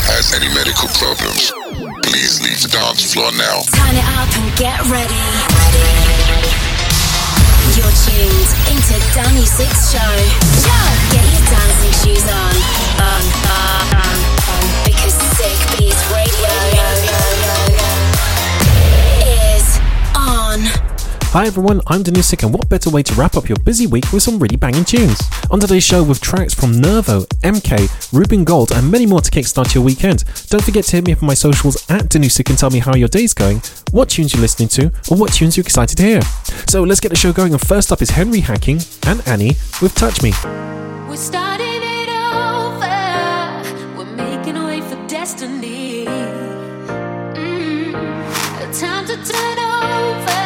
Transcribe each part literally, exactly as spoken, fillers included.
has any medical problems, please leave the dance floor now. Turn it up and get ready. You're tuned into Dan Music's show. Get your dancing shoes on. On, on, on, on. Because Sick Beats Radio is on. Hi everyone, I'm Danusik, and what better way to wrap up your busy week with some really banging tunes? On today's show with tracks from Nervo, M K, Ruben Gold and many more to kickstart your weekend. Don't forget to hit me up on my socials at Danusik and tell me how your day's going, what tunes you're listening to, or what tunes you're excited to hear. So let's get the show going, and first up is Henry Hacking and Annie with Touch Me. We're starting it over, we're making a way for destiny. Mm, time to turn over.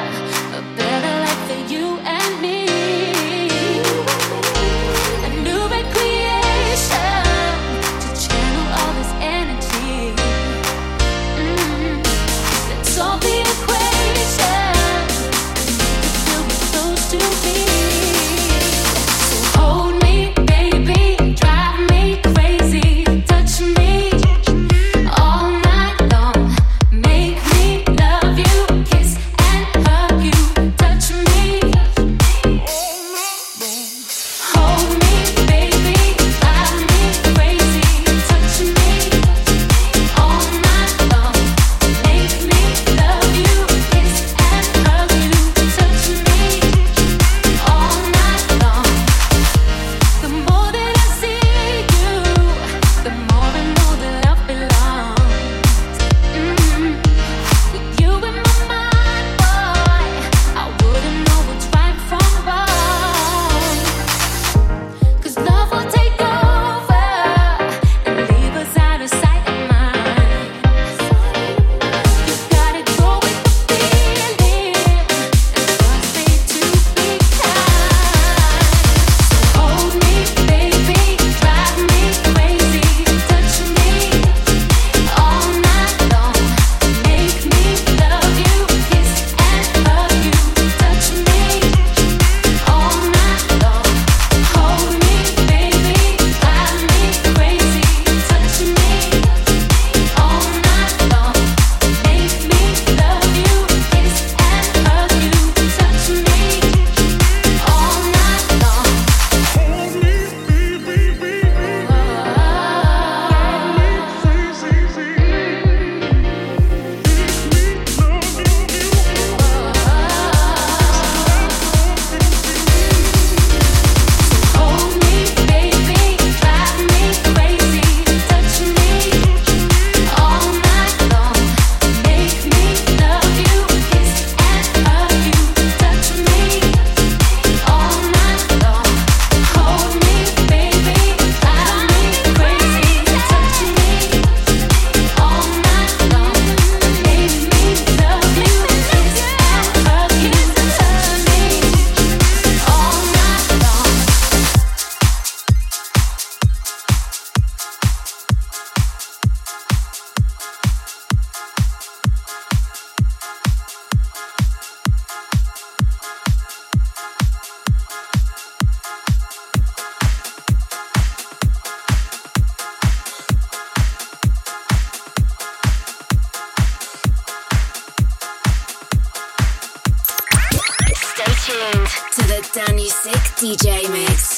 D J Mix.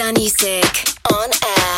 Danny Sick on air.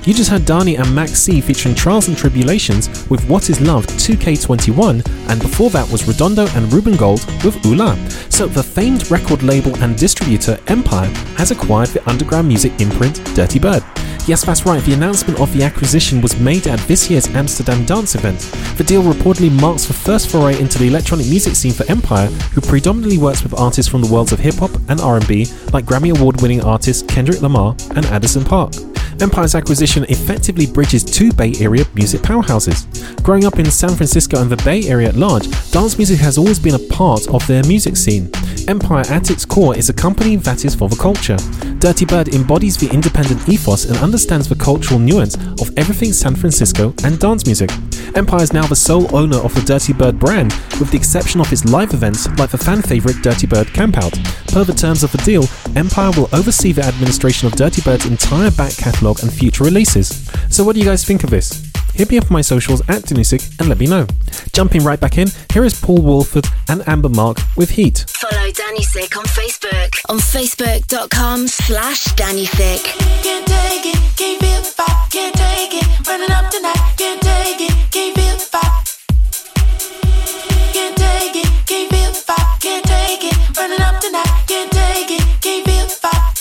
You just heard Dani and Max C featuring Trials and Tribulations with What Is Love two K twenty-one, and before that was Redondo and Ruben Gold with Ula. So the famed record label and distributor Empire has acquired the underground music imprint Dirty Bird. Yes, that's right, the announcement of the acquisition was made at this year's Amsterdam Dance event. The deal reportedly marks the first foray into the electronic music scene for Empire, who predominantly works with artists from the worlds of hip-hop and R and B, like Grammy Award-winning artists Kendrick Lamar and Addison Park. Empire's acquisition effectively bridges two Bay Area music powerhouses. Growing up in San Francisco and the Bay Area at large, dance music has always been a part of their music scene. Empire at its core is a company that is for the culture. Dirty Bird embodies the independent ethos and understands the cultural nuance of everything San Francisco and dance music. Empire is now the sole owner of the Dirty Bird brand, with the exception of its live events like the fan favourite Dirty Bird Campout. Per the terms of the deal, Empire will oversee the administration of Dirty Bird's entire back catalogue and future releases. So what do you guys think of this? Hit me up on my socials at Danusik and let me know. Jumping right back in, here is Paul Wolford and Amber Mark with Heat. Follow Danusik on Facebook on facebook.com slash Danusik. Can't take it, can't feel the vibe, can't take it, running up tonight, can't take it, can't feel the vibe. Can't take it, can't feel the vibe, can't take it, running up tonight, can't take it, can't feel the vibe.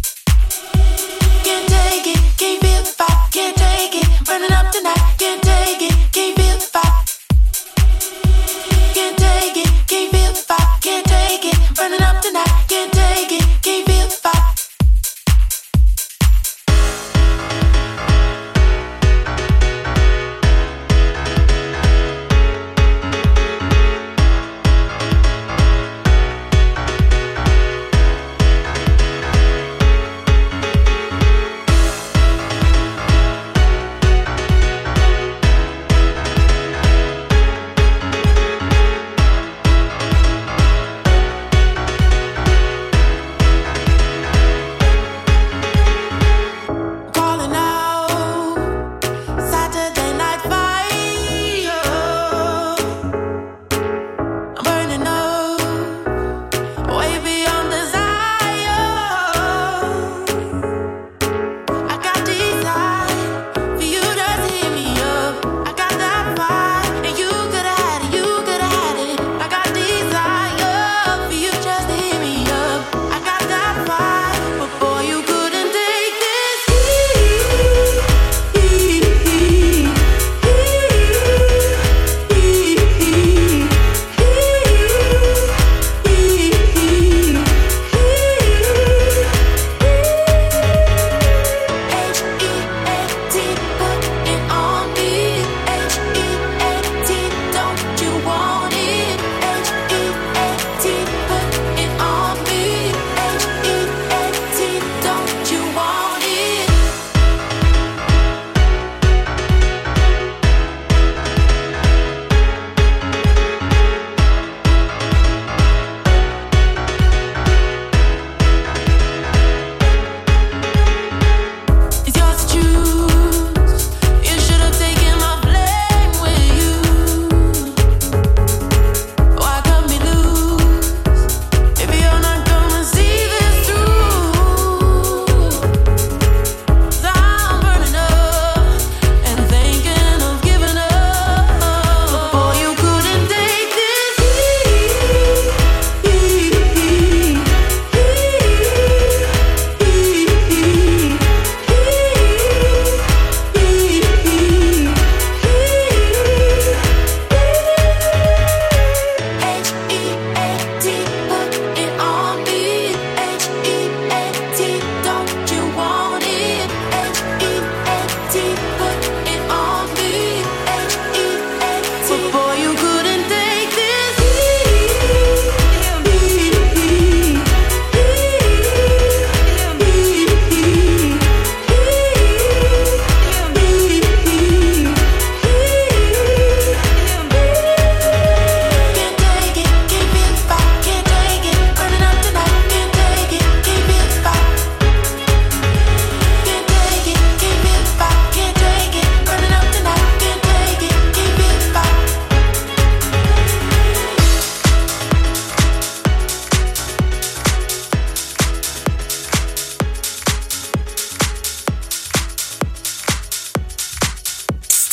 Can't take it, can't feel the vibe, can't take it, running up tonight, can't take it, can't feel the vibe. Can't take it, can't feel the vibe, can't take it, running up tonight, can't take it, can't feel the vibe.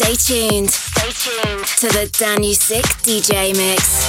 Stay tuned. Stay tuned to the Danu Sick D J Mix.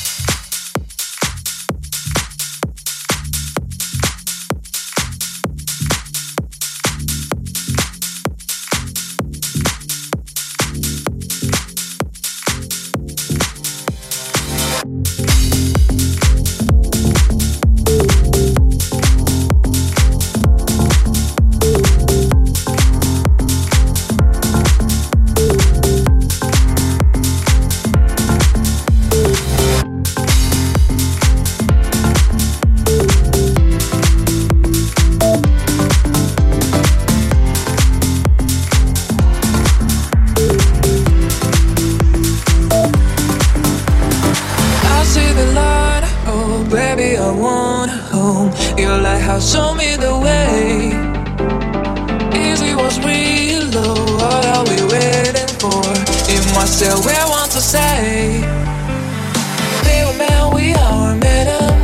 Show me the way. Easy was real low. What are we waiting for? In myself, we want to say, baby man, we are madam.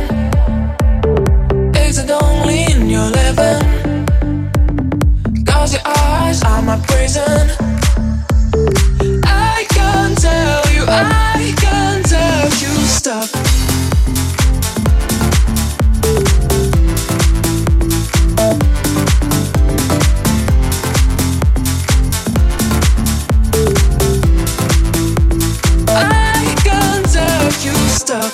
Exit only in your living. Cause your eyes are my prison. I can't tell you, I can't tell you stop. Stop.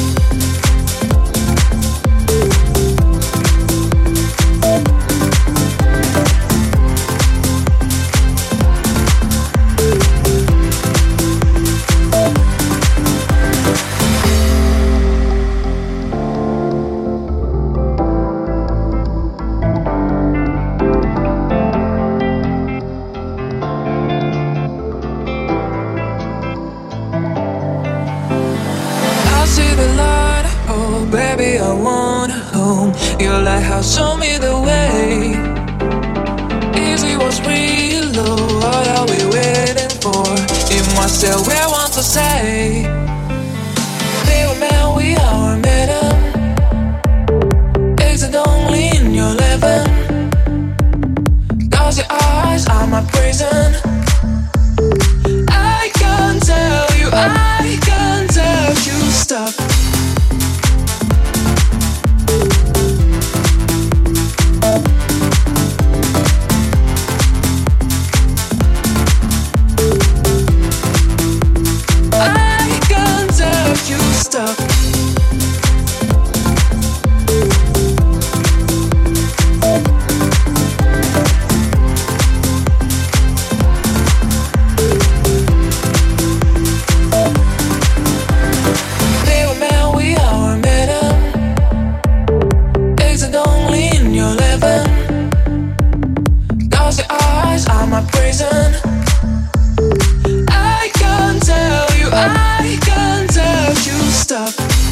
Your lighthouse, show me the way. Easy was real low. What are we waiting for? In myself, we want to say, baby man, we are madam. Exit only in your living. Cause your eyes are my prison. I can't tell you, I can't tell you stop. Stop. Baby man, we are madam. Exit only in your living. Cause your eyes are my prison. I can't tell you, I can't tell you stop.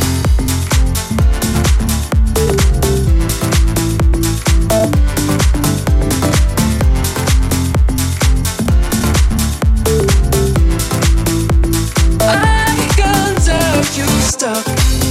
I can't tell you stop.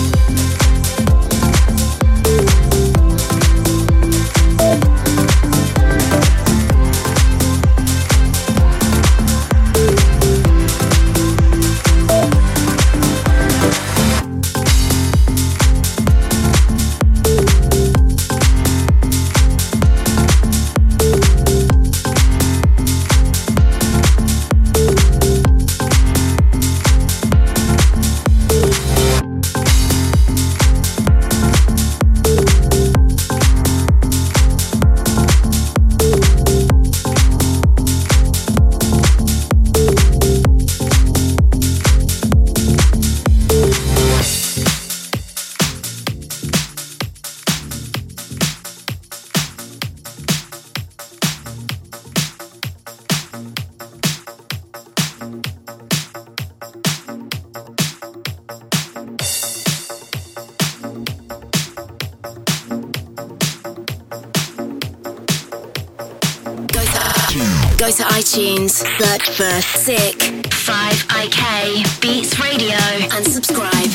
Go to iTunes, search for Sick five I K Beats Radio and subscribe.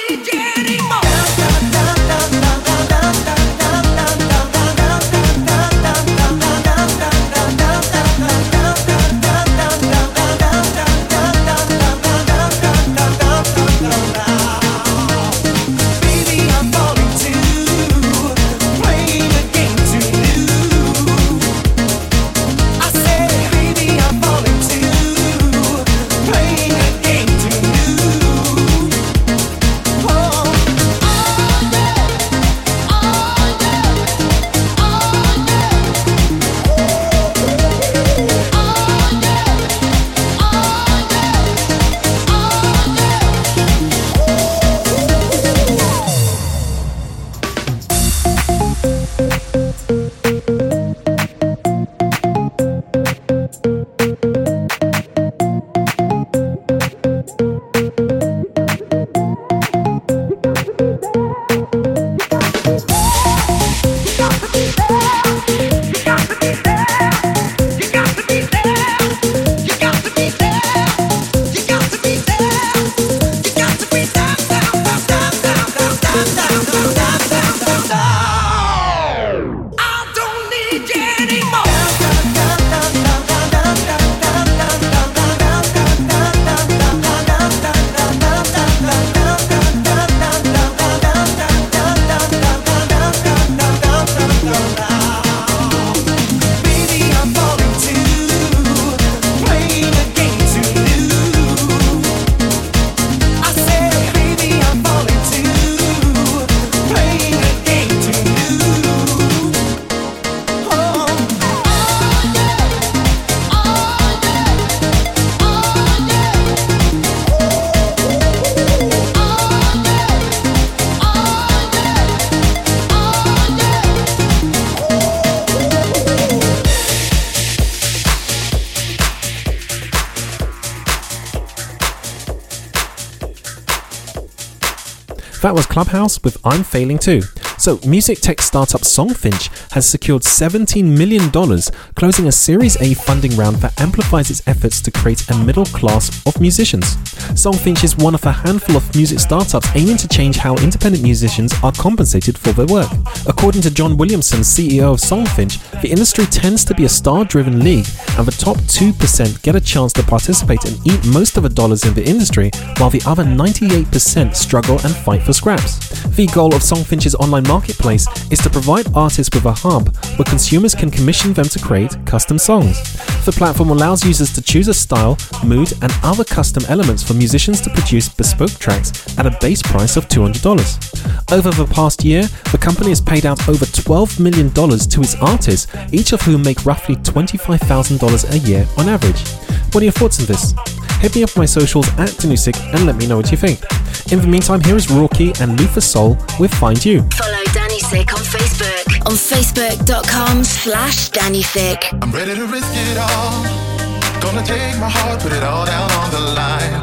That was Clubhouse with I'm Failing Too. So, music tech startup Songfinch has secured seventeen million dollars, closing a Series A funding round that amplifies its efforts to create a middle class of musicians. Songfinch is one of a handful of music startups aiming to change how independent musicians are compensated for their work. According to John Williamson, C E O of Songfinch, the industry tends to be a star-driven league, and the top two percent get a chance to participate and eat most of the dollars in the industry, while the other ninety-eight percent struggle and fight for scraps. The goal of Songfinch's online marketplace is to provide artists with a hub where consumers can commission them to create custom songs. The platform allows users to choose a style, mood, and other custom elements for musicians to produce bespoke tracks at a base price of two hundred dollars. Over the past year, the company has paid out over twelve million dollars to its artists, each of whom make roughly twenty-five thousand dollars a year on average. What are your thoughts on this? Hit me up on my socials at Danusik and let me know what you think. In the meantime, here is Rorky and Luther Soul with Find You. Follow Danusik on Facebook on facebook.com slash Danusik. I'm ready to risk it all. Gonna take my heart, put it all down on the line.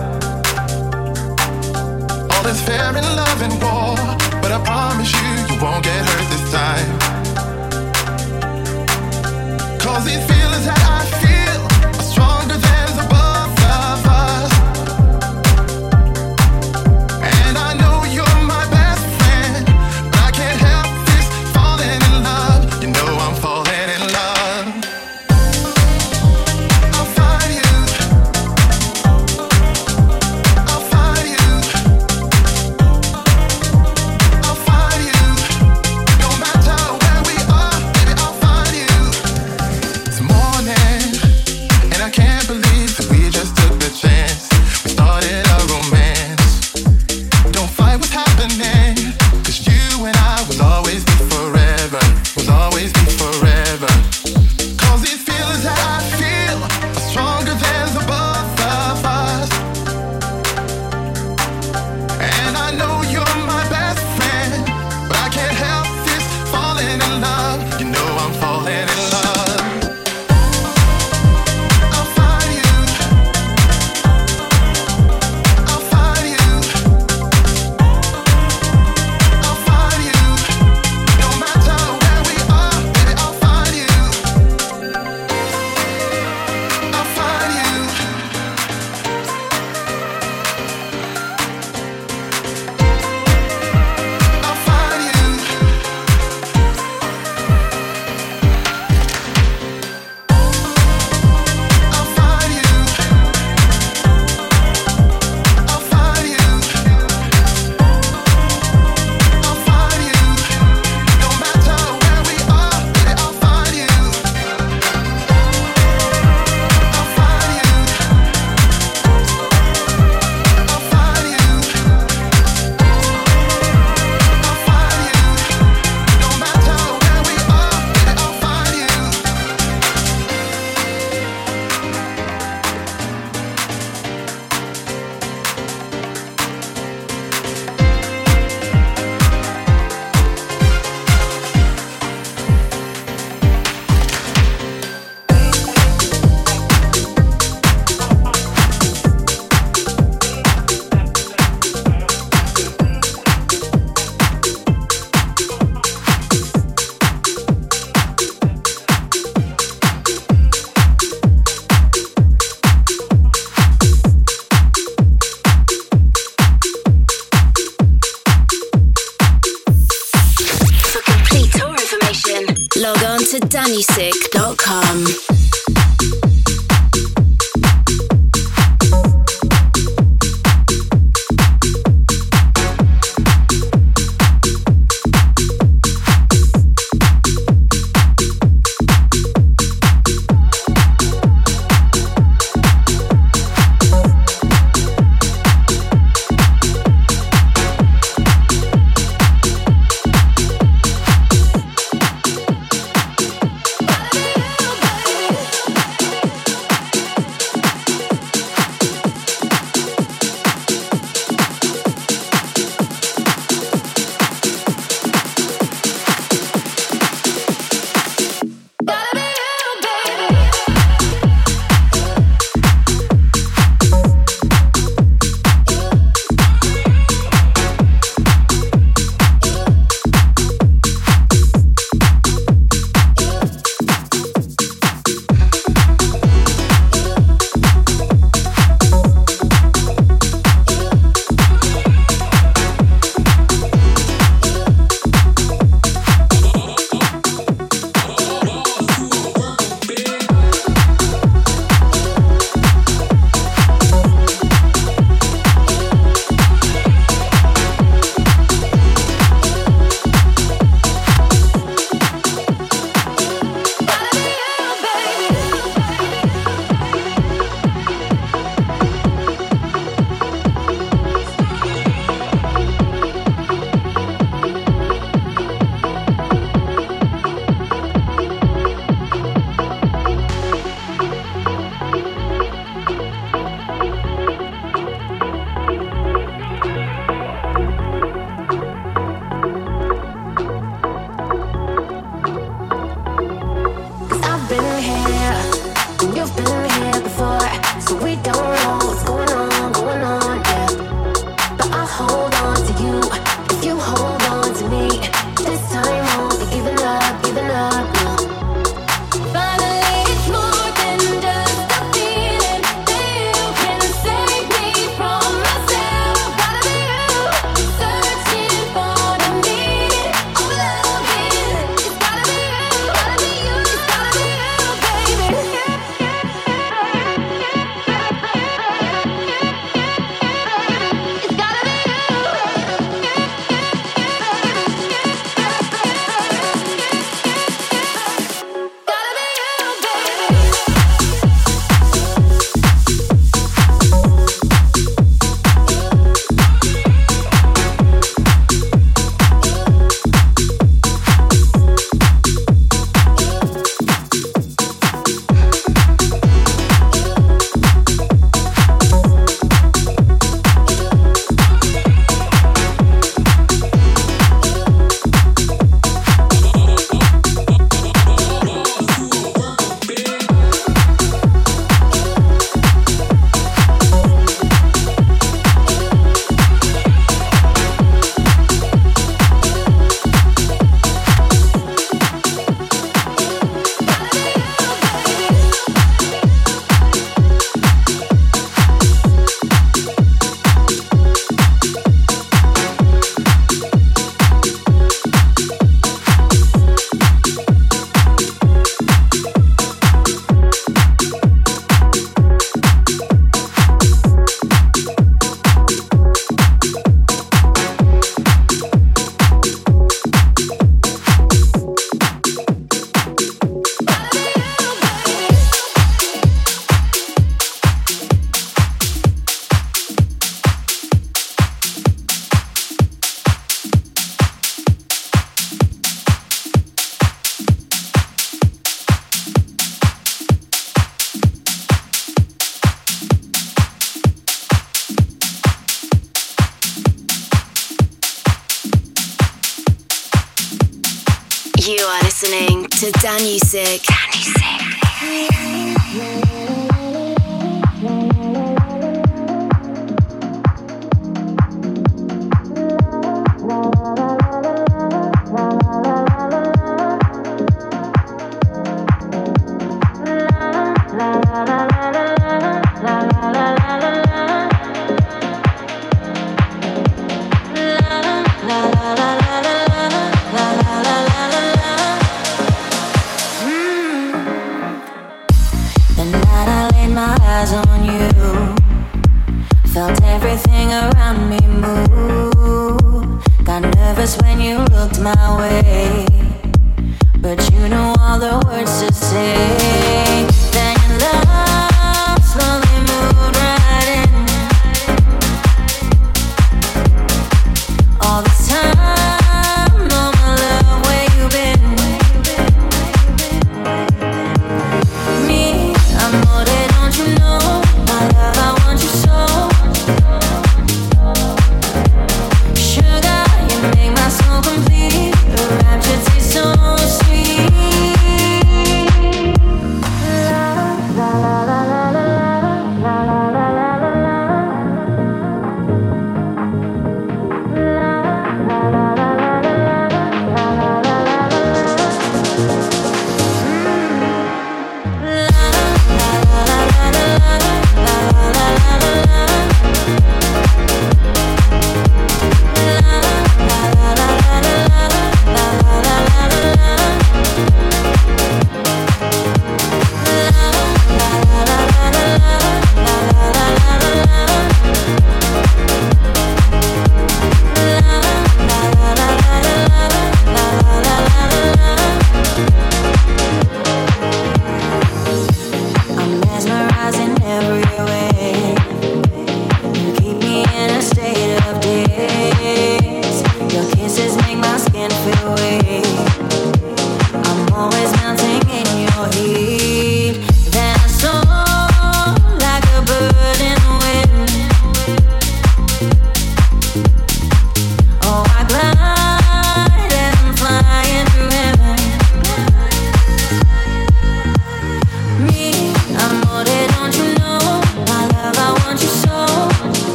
All is fair in love and war, but I promise you, you won't get hurt this time. Cause these feelings that I feel are stronger than the both of us. And I know you're my best friend, but I can't help this falling in love. You know I'm falling in love. I'll find you. I'll find you. I'll find you. No matter where we are, baby, I'll find you. It's more log on to dannysick dot com. You are listening to Dannysick. Dannysick. eyes on you. Felt everything around me move. Got nervous when you looked my way, but you know all the words to say. Then your love slowly moved right in. All this time, oh my love, where you been? Me, I'm more than, don't you know? My love, I want you so. Sugar, you make my soul complete. The rapture tastes so sweet. La, la, la.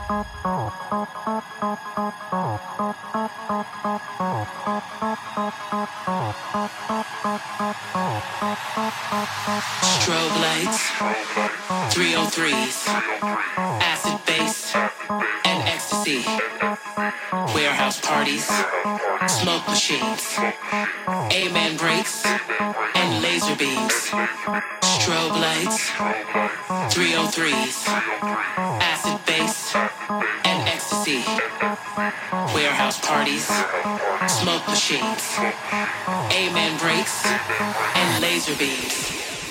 Strobe lights, three oh threes, acid bass, and ecstasy. Warehouse parties, smoke machines, amen breaks, and laser beams. Strobe lights, three oh threes, acid bass, and ecstasy. Warehouse parties, smoke machines, amen breaks, and laser beams.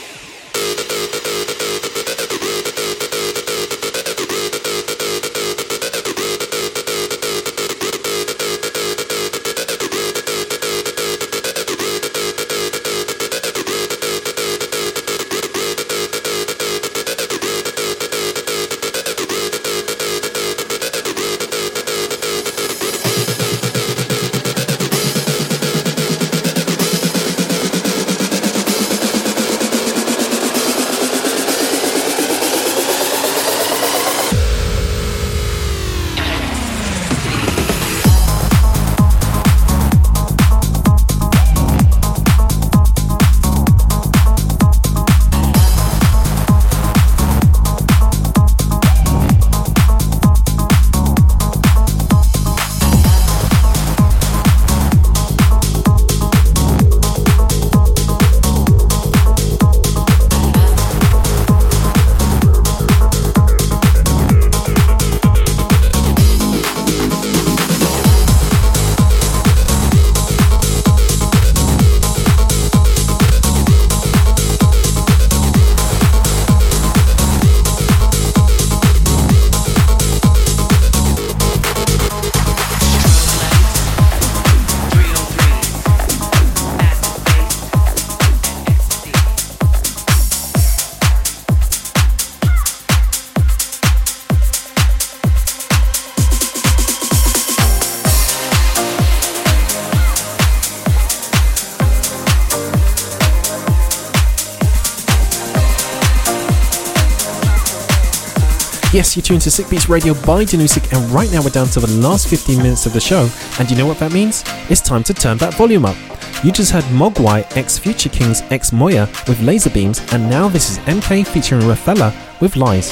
Yes, you're tuned to Sick Beats Radio by Danusik, and right now we're down to the last fifteen minutes of the show, and you know what that means? It's time to turn that volume up. You just heard Mogwai x Future Kings x Moya with Laser Beams, and now this is M K featuring Rafella with Lies.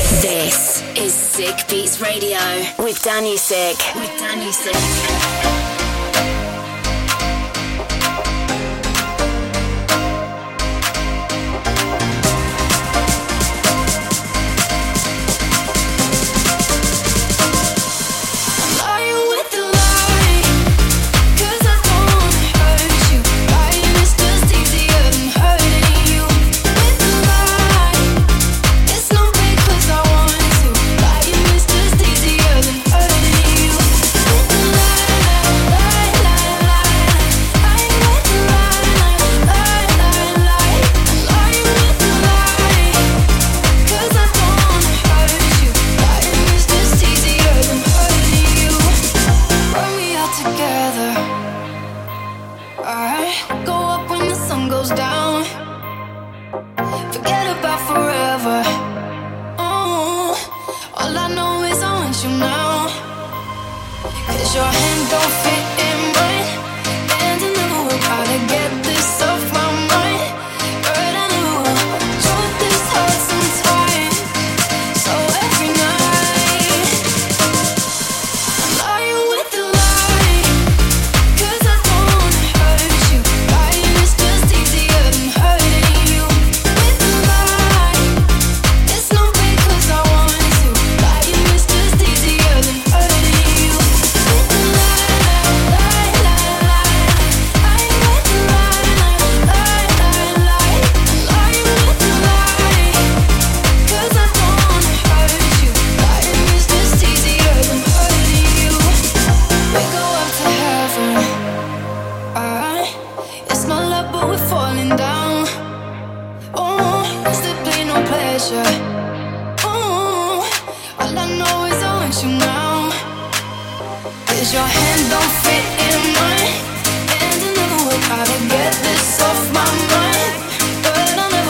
This is Sick Beats Radio with Danusik. With Danusik.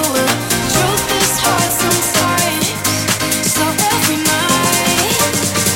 Truth is hard sometimes, so every night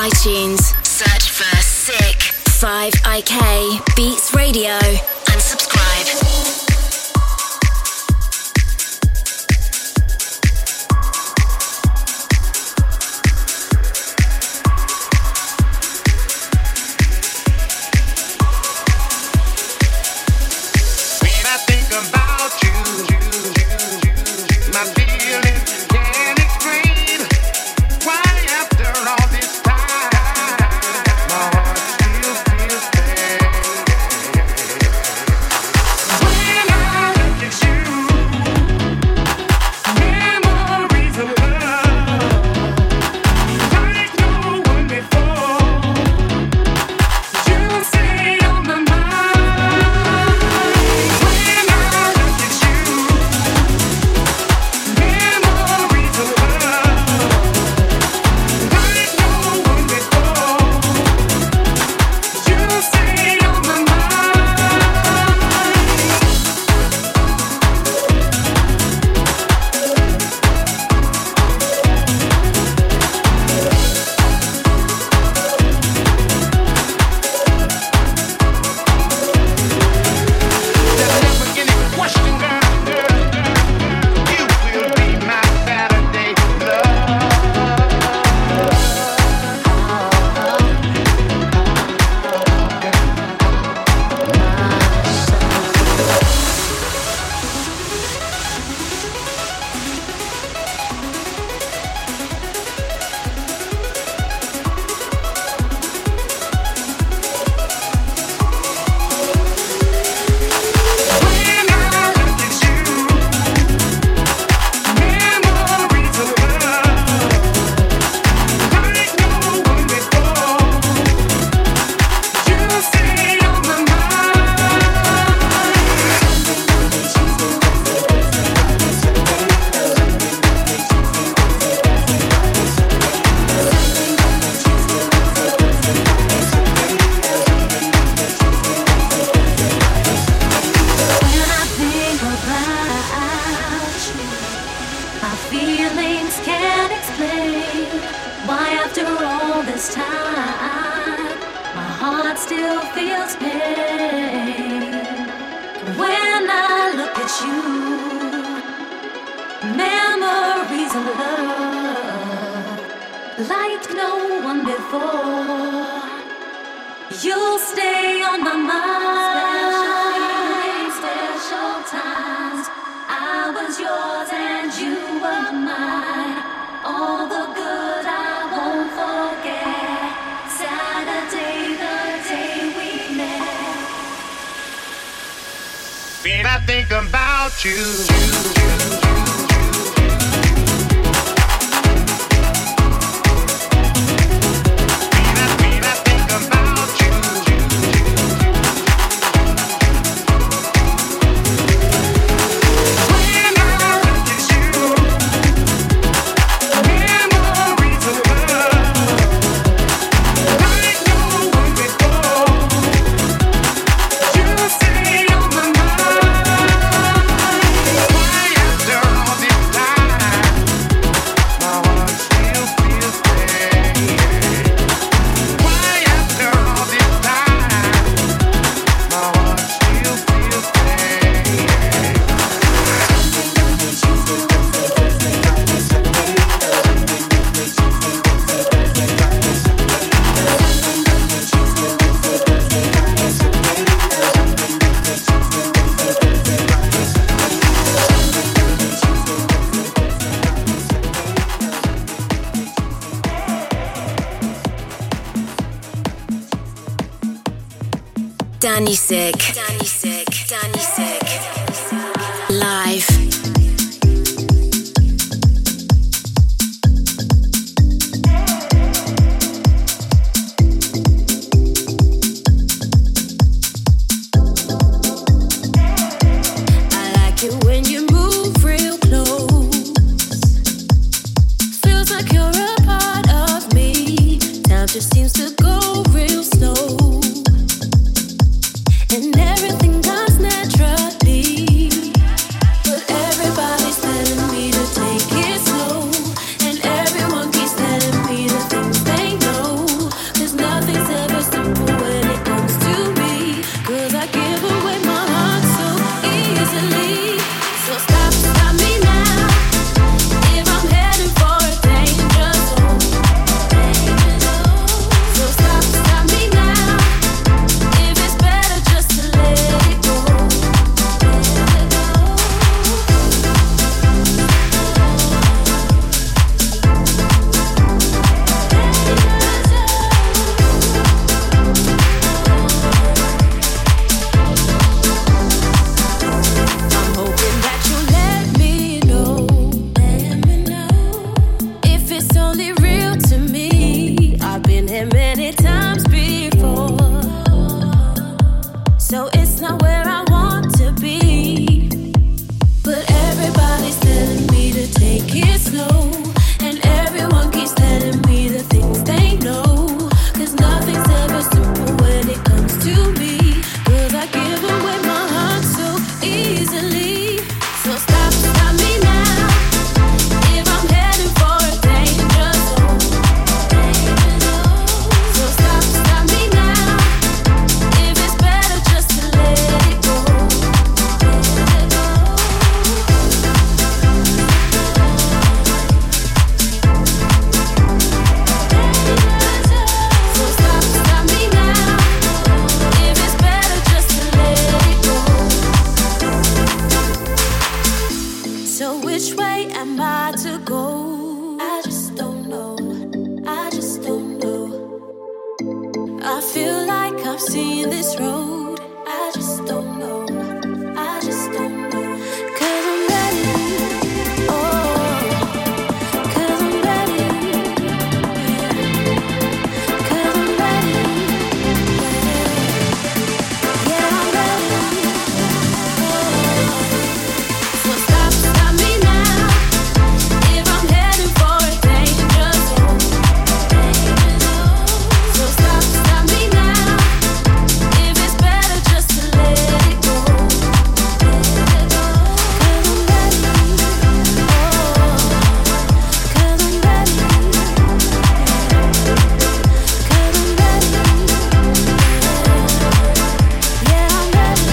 iTunes, search for Sick five I K Beats Radio and subscribe. Danny Sick. Danny Sick. Danny Sick. Live. Just seems to go real slow, and everything which way am I to go? I just don't know. I just don't know. I feel like I've seen this road. I just don't know. I just don't know. 'Cause I'm ready. Oh, 'cause I'm ready. 'Cause I'm ready. Yeah, I'm ready. So stop, stop me now. If I'm heading for a danger zone. So stop, stop me now. If it's better just to let it go. Let it go. 'Cause I'm ready. Oh, 'cause I'm ready. 'Cause I'm ready. Yeah, I'm ready.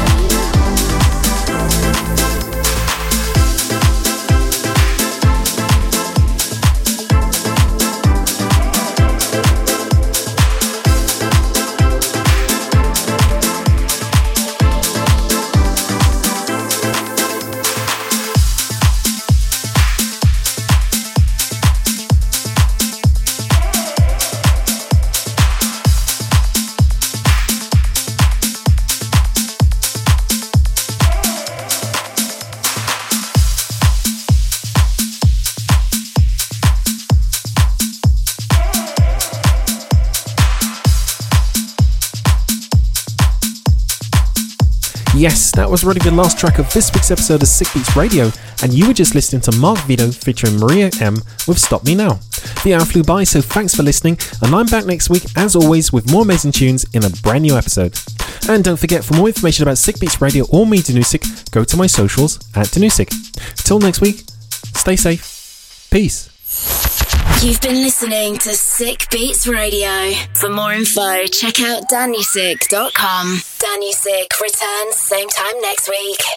Yes, that was already the last track of this week's episode of Sick Beats Radio, and you were just listening to Mark Vito featuring Maria M with Stop Me Now. The hour flew by, so thanks for listening, and I'm back next week, as always, with more amazing tunes in a brand new episode. And don't forget, for more information about Sick Beats Radio or me, Danusik, go to my socials at Danusik. Till next week, stay safe. Peace. You've been listening to Sick Beats Radio. For more info, check out danusik dot com. Danusik returns same time next week.